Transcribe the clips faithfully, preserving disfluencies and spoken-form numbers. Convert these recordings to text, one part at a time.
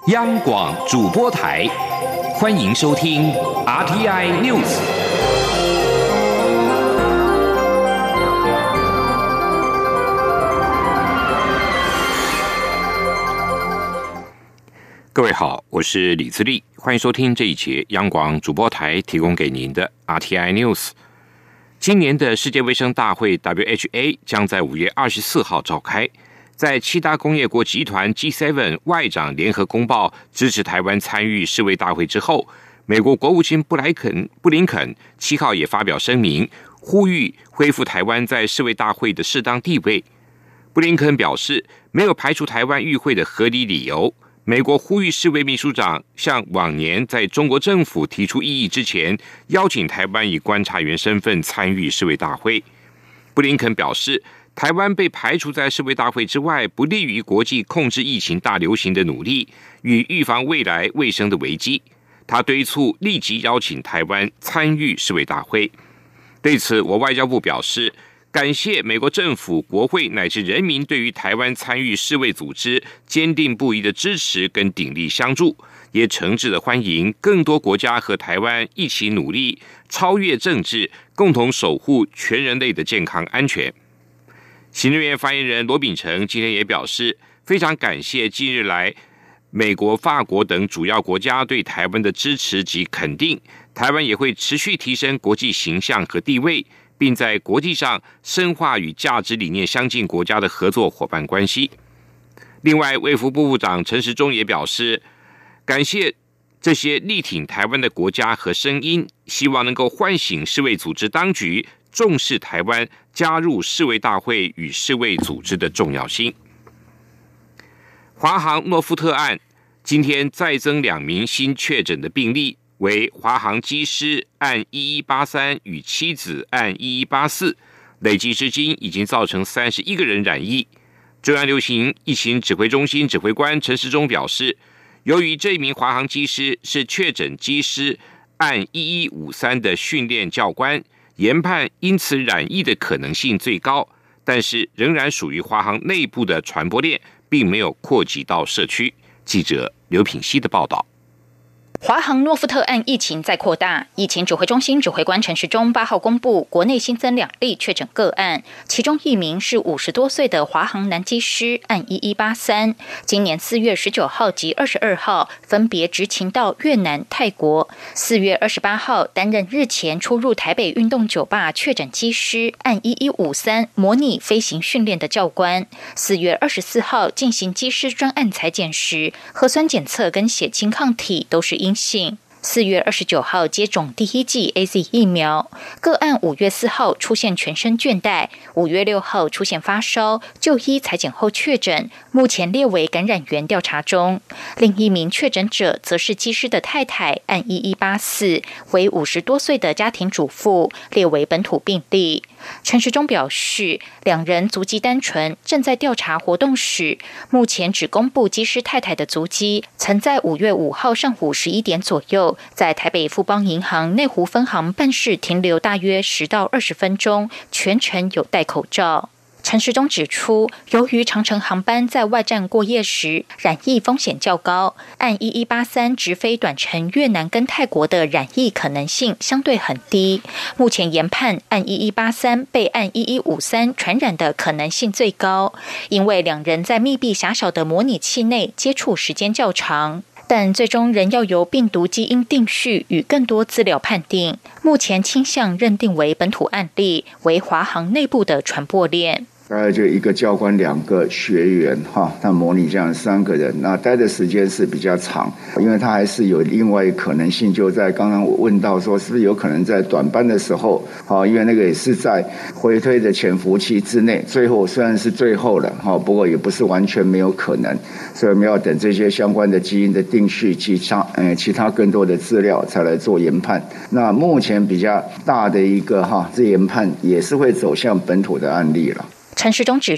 央广主播台，欢迎收听 R T I News。各位好，我是李自立，欢迎收听这一节央广主播台提供给您的 R T I News。今年的世界卫生大会 W H A 将在五月二十四号召开。在七大工业国集团 G 七 外长联合公报支持台湾参与世卫大会之后，美国国务卿布莱肯布林肯七号也发表声明，呼吁恢复台湾在世卫大会的适当地位。布林肯表示，没有排除台湾与会的合理理由。美国呼吁世卫秘书长像往年在中国政府提出异议之前，邀请台湾以观察员身份参与世卫大会。布林肯表示，台湾被排除在世卫大会之外，不利于国际控制疫情大流行的努力与预防未来卫生的危机。他敦促立即邀请台湾参与世卫大会。对此，我外交部表示，感谢美国政府、国会乃至人民对于台湾参与世卫组织坚定不移的支持跟鼎力相助，也诚挚的欢迎更多国家和台湾一起努力，超越政治，共同守护全人类的健康安全。行政院发言人罗秉成今天也表示，非常感谢近日来美国、法国等主要国家对台湾的支持及肯定，台湾也会持续提升国际形象和地位，并在国际上深化与价值理念相近国家的合作伙伴关系。另外，卫福部部长陈时中也表示，感谢这些力挺台湾的国家和声音，希望能够唤醒世卫组织当局重视台湾加入世卫大会与世卫组织的重要性。华航诺富特案今天再增两名新确诊的病例，为华航机师案一一八三与妻子案一一八四，累计至今已经造成三十一个人染疫。中央流行疫情指挥中心指挥官陈时中表示，由于这名华航机师是确诊机师案一一五三的训练教官，研判因此染疫的可能性最高，但是仍然属于华航内部的传播链，并没有扩及到社区。记者刘品希的报道。 华航诺富特案疫情再扩大，疫情指挥中心指挥官陈时中八号公布，国内新增两例确诊个案，其中一名是五十多岁的华航男机师案一一八三，今年四月十九号及二十二号分别执勤到越南、泰国。四月二十八号担任日前出入台北运动酒吧确诊机师案一一五三模拟飞行训练的教官。四月二十四号进行机师专案采检时，核酸检测跟血清抗体都是阴性。四月二十九号接种第一剂 A Z 疫苗，个案五月四号出现全身倦怠，五月六号出现发烧，就医采检后确诊，目前列为感染源调查中。另一名确诊者则是机师的太太，案一一八四，为五十多岁的家庭主妇，列为本土病例。陈时中表示，两人足迹单纯，正在调查活动史，目前只公布机师太太的足迹，曾在五月五号上午十一点左右，在台北富邦银行内湖分行办事停留大约十到二十分钟，全程有戴口罩。陈时中指出，由于长程航班在外站过夜时染疫风险较高，按一一八三直飞短程越南跟泰国的染疫可能性相对很低。目前研判按一一八三被按一一五三传染的可能性最高，因为两人在密闭狭小的模拟器内接触时间较长。但最终仍要由病毒基因定序与更多资料判定，目前倾向认定为本土案例，为华航内部的传播链。 大概就一个教官两个学员哈，他模拟这样三个人，那待的时间是比较长，因为他还是有另外一个可能性，就在刚刚我问到说是不是有可能在短班的时候，哈，因为那个也是在回推的潜伏期之内，最后虽然是最后了哈，不过也不是完全没有可能，所以我们要等这些相关的基因的定序，其他呃其他更多的资料才来做研判。那目前比较大的一个哈，这研判也是会走向本土的案例了。 陈时中指出，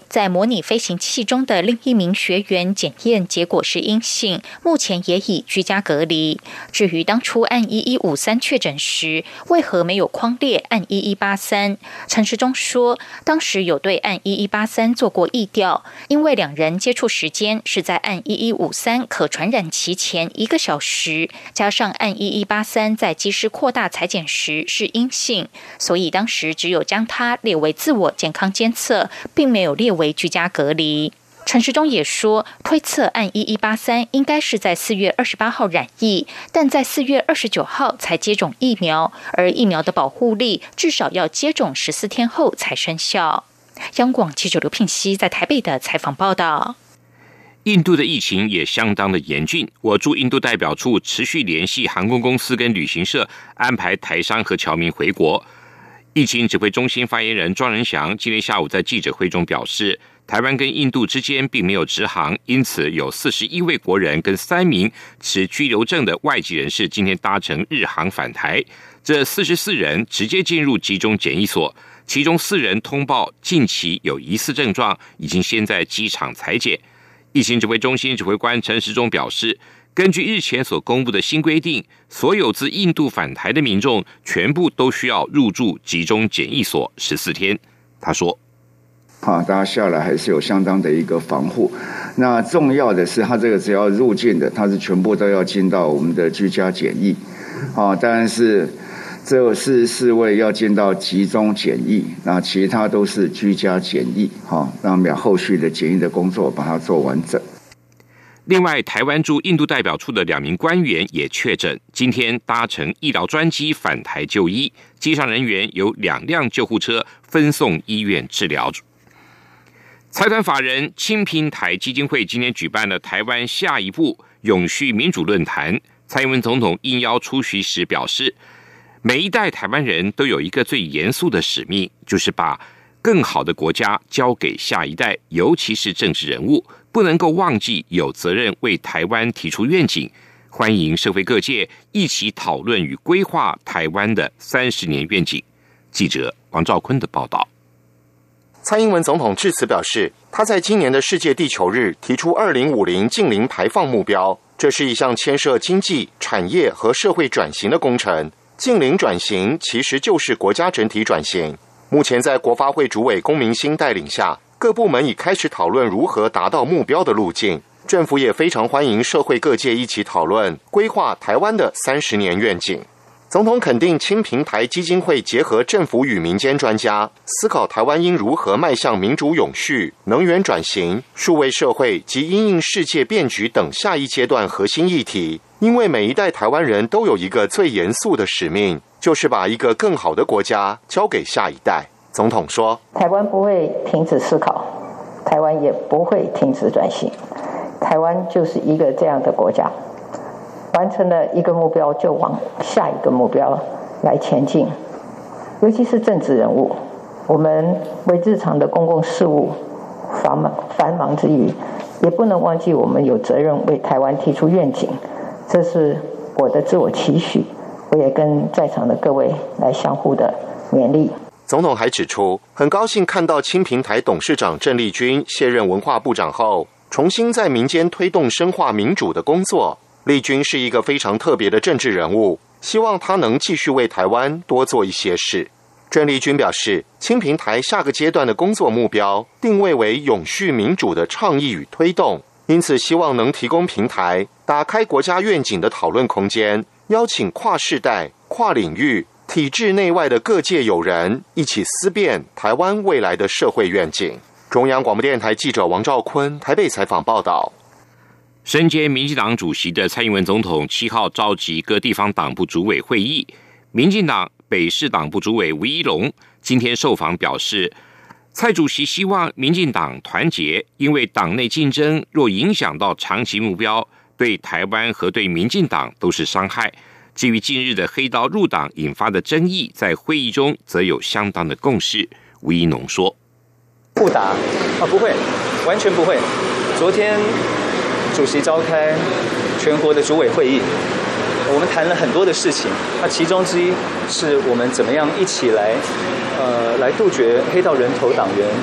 在模拟飞行器中的另一名学员检验结果是阴性，目前也已居家隔离。至于当初案一一五三确诊时，为何没有匡列案一一八三？陈时中说，当时有对案一一八三做过疫调，因为两人接触时间是在案一一五三可传染期前一个小时，加上案一一八三在机师扩大采检时是阴性，所以当时只有将他列为自我健康监测，并没有列为居家隔离。陈时中也说，推测案一一八三应该是在四月二十八号染疫，但在四月二十九号才接种疫苗，而疫苗的保护力至少要接种十四天后才生效。央广记者刘聘熙在台北的采访报道。 印度的疫情也相当的严峻，我驻印度代表处持续联系航空公司跟旅行社，安排台商和侨民回国。疫情指挥中心发言人庄仁祥今天下午在记者会中表示，台湾跟印度之间并没有直航，因此有四十一位国人跟三名持居留证的外籍人士今天搭乘日航返台，这四十四人直接进入集中检疫所，其中四人通报近期有疑似症状，已经先在机场采检。疫情指挥中心指挥官陈时中表示，根据日前所公布的新规定，所有自印度返台的民众全部都需要入住集中检疫所十四天。他说， 啊，大家下来还是有相当的一个防护。那重要的是，他这个只要入境的，他是全部都要进到我们的居家检疫。啊，当然是这是四位要进到集中检疫，那其他都是居家检疫。哈，让我们后续的检疫的工作把它做完整。 另外，台湾驻印度代表处的两名官员也确诊，今天搭乘医疗专机返台就医，机上人员有两辆救护车分送医院治疗。财团法人青平台基金会今天举办了台湾下一步永续民主论坛，蔡英文总统应邀出席时表示，每一代台湾人都有一个最严肃的使命，就是把更好的国家交给下一代，尤其是政治人物，不能够忘记有责任为台湾提出愿景，欢迎社会各界一起讨论与规划台湾的三十年愿景。记者王兆坤的报道。 蔡英文总统致辞表示，他在今年的世界地球日提出二零五零净零排放目标，这是一项牵涉经济、产业和社会转型的工程。净零转型其实就是国家整体转型。目前在国发会主委龚明鑫带领下，各部门已开始讨论如何达到目标的路径。政府也非常欢迎社会各界一起讨论规划台湾的三十年愿景。总统肯定青平台基金会结合政府与民间专家，思考台湾应如何迈向民主永续、能源转型、数位社会及因应世界变局等下一阶段核心议题。因为每一代台湾人都有一个最严肃的使命，就是把一个更好的国家交给下一代。总统说， 台湾不会停止思考，台湾也不会停止转型，台湾就是一个这样的国家，完成了一个目标就往下一个目标来前进。尤其是政治人物，我们为日常的公共事务繁忙繁忙之余，也不能忘记我们有责任为台湾提出愿景，这是我的自我期许，我也跟在场的各位来相互的勉励。 总统还指出，很高兴看到青平台董事长郑丽君卸任文化部长后，重新在民间推动深化民主的工作。丽君是一个非常特别的政治人物，希望他能继续为台湾多做一些事。郑丽君表示，青平台下个阶段的工作目标定位为永续民主的倡议与推动，因此希望能提供平台，打开国家愿景的讨论空间，邀请跨世代、跨领域、体制内外的各界友人一起思辨台湾未来的社会愿景。中央广播电台记者王兆坤台北采访报道。 身兼民进党主席的蔡英文总统七号召集各地方党部主委会议，民进党北市党部主委吴怡龙今天受访表示，蔡主席希望民进党团结，因为党内竞争若影响到长期目标，对台湾和对民进党都是伤害。至于近日的黑道入党引发的争议，在会议中则有相当的共识。吴怡农说， 不打啊，不会，完全不会。昨天主席召开全国的主委会议，我们谈了很多的事情，那其中之一是我们怎么样一起来，呃，来杜绝黑道人头党员，呃，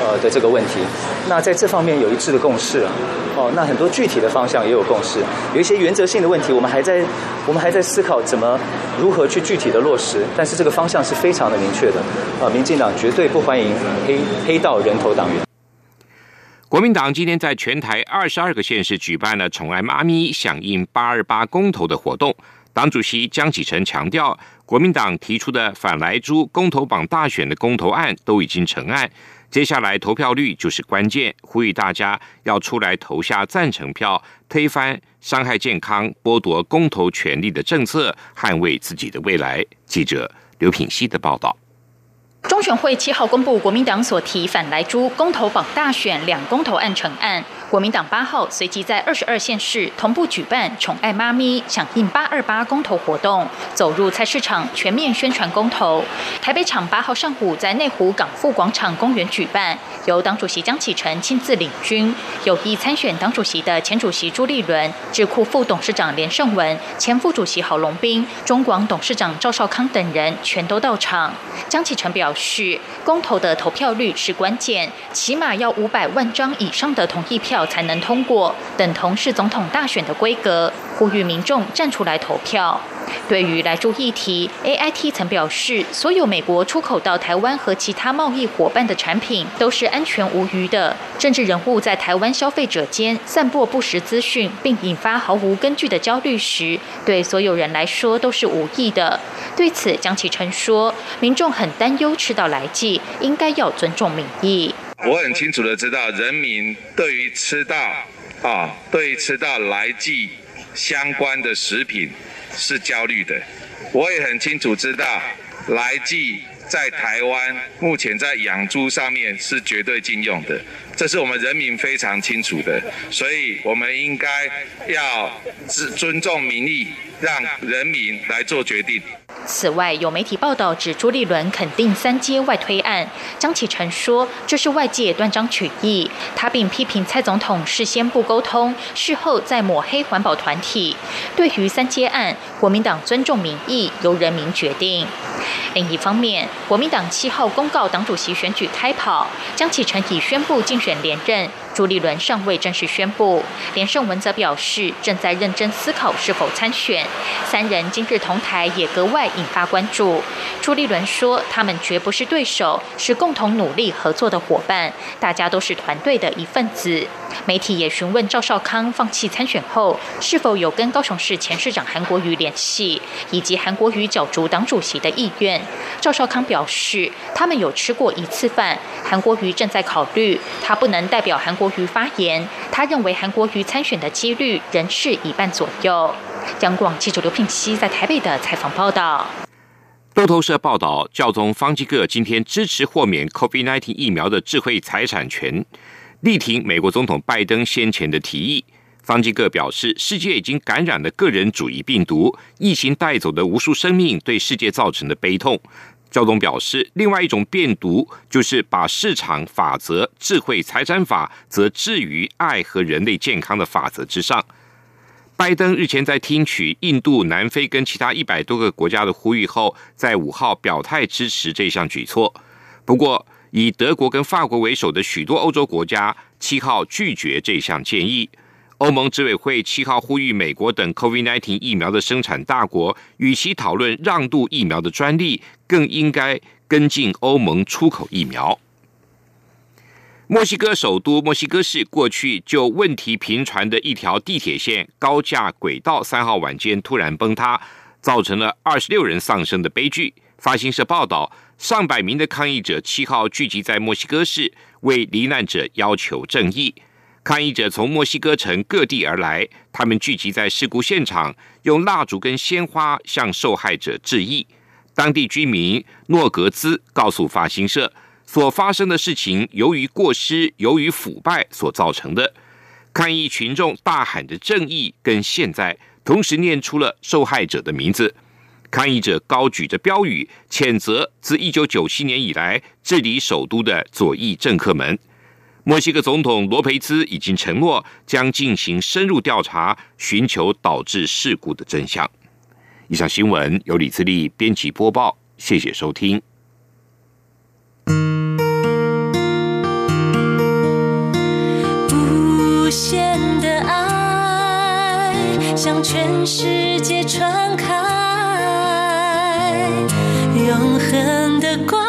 呃的这个问题。那在这方面有一致的共识啊，哦，那很多具体的方向也有共识，有一些原则性的问题，我们还在我们还在思考怎么如何去具体的落实，但是这个方向是非常的明确的。呃，民进党绝对不欢迎黑黑道人头党员。 国民党今天在全台二十二个县市举办了宠爱妈咪响应八二八公投的活动。党主席江启臣强调，国民党提出的反莱猪公投榜大选的公投案都已经成案，接下来投票率就是关键，呼吁大家要出来投下赞成票，推翻伤害健康、剥夺公投权利的政策，捍卫自己的未来。记者刘品希的报道。 中选会七号公布国民党所提反莱猪公投榜大选两公投案成案，国民党八号随即在二十二县市同步举办宠爱妈咪响应八二八公投活动，走入菜市场全面宣传公投。台北场八号上午在内湖港富广场公园举办，由党主席江启臣亲自领军，有意参选党主席的前主席朱立伦、智库副董事长连胜文、前副主席郝龙斌、中广董事长赵少康等人全都到场。江启臣表示，公投的投票率是关键，起码要五百万张以上的同意票才能通过，等同是总统大选的规格，呼吁民众站出来投票。对于莱猪议题 ，A I T 曾表示，所有美国出口到台湾和其他贸易伙伴的产品都是安全无虞的。政治人物在台湾消费者间散播不实资讯，并引发毫无根据的焦虑时，对所有人来说都是无益的。对此，江启臣说，民众很担忧吃到莱剂，应该要尊重民意。 我很清楚的知道，人民对于吃到啊，对于吃到莱剂相关的食品是焦虑的。我也很清楚知道，莱剂在台湾目前在养猪上面是绝对禁用的，这是我们人民非常清楚的，所以我们应该要尊重民意，让人民来做决定。 此外，有媒体报道指朱立伦肯定三阶外推案，江启臣说这是外界断章取义，他并批评蔡总统事先不沟通，事后再抹黑环保团体。对于三阶案，国民党尊重民意，由人民决定。另一方面，国民党七号公告党主席选举开跑，江启臣已宣布竞选连任，朱立伦尚未正式宣布。连胜文则表示正在认真思考是否参选。三人今日同台也格外引发关注。朱立伦说，他们绝不是对手，是共同努力合作的伙伴，大家都是团队的一份子。媒体也询问赵少康放弃参选后是否有跟高雄市前市长韩国瑜联系，以及韩国瑜角逐党主席的意愿。赵少康表示，他们有吃过一次饭，韩国瑜正在考虑，他不能代表韩国瑜发言。他认为韩国瑜参选的几率仍是一半左右。央广记者刘聘熙在台北的采访报道。 路透社报道，教宗方济各今天支持豁免 COVID 十九 疫苗的智慧财产权，力挺美国总统拜登先前的提议。方济各表示，世界已经感染了个人主义病毒，疫情带走的无数生命对世界造成的悲痛。教宗表示，另外一种病毒就是把市场法则、智慧财产法则置于爱和人类健康的法则之上。拜登日前在听取印度、南非跟其他一百多个国家的呼吁后，在五号表态支持这项举措。不过，以德国跟法国为首的许多欧洲国家七号拒绝这项建议。欧盟执委会七号呼吁美国等 COVID 十九 疫苗的生产大国，与其讨论让渡疫苗的专利，更应该跟进欧盟出口疫苗。墨西哥首都墨西哥市过去就问题频传的一条地铁线高架轨道三号晚间突然崩塌，造成了二十六人丧生的悲剧。法新社报道，上百名的抗议者七号聚集在墨西哥市，为罹难者要求正义。抗议者从墨西哥城各地而来，他们聚集在事故现场，用蜡烛跟鲜花向受害者致意。当地居民诺格兹告诉法新社，所发生的事情由于过失、由于腐败所造成的。抗议群众大喊着正义跟现在，同时念出了受害者的名字。抗议者高举着标语，谴责自一九九七年以来治理首都的左翼政客们。墨西哥总统罗培兹已经承诺将进行深入调查，寻求导致事故的真相。以上新闻由李自力编辑播报，谢谢收听。 全世界传开，永恒的光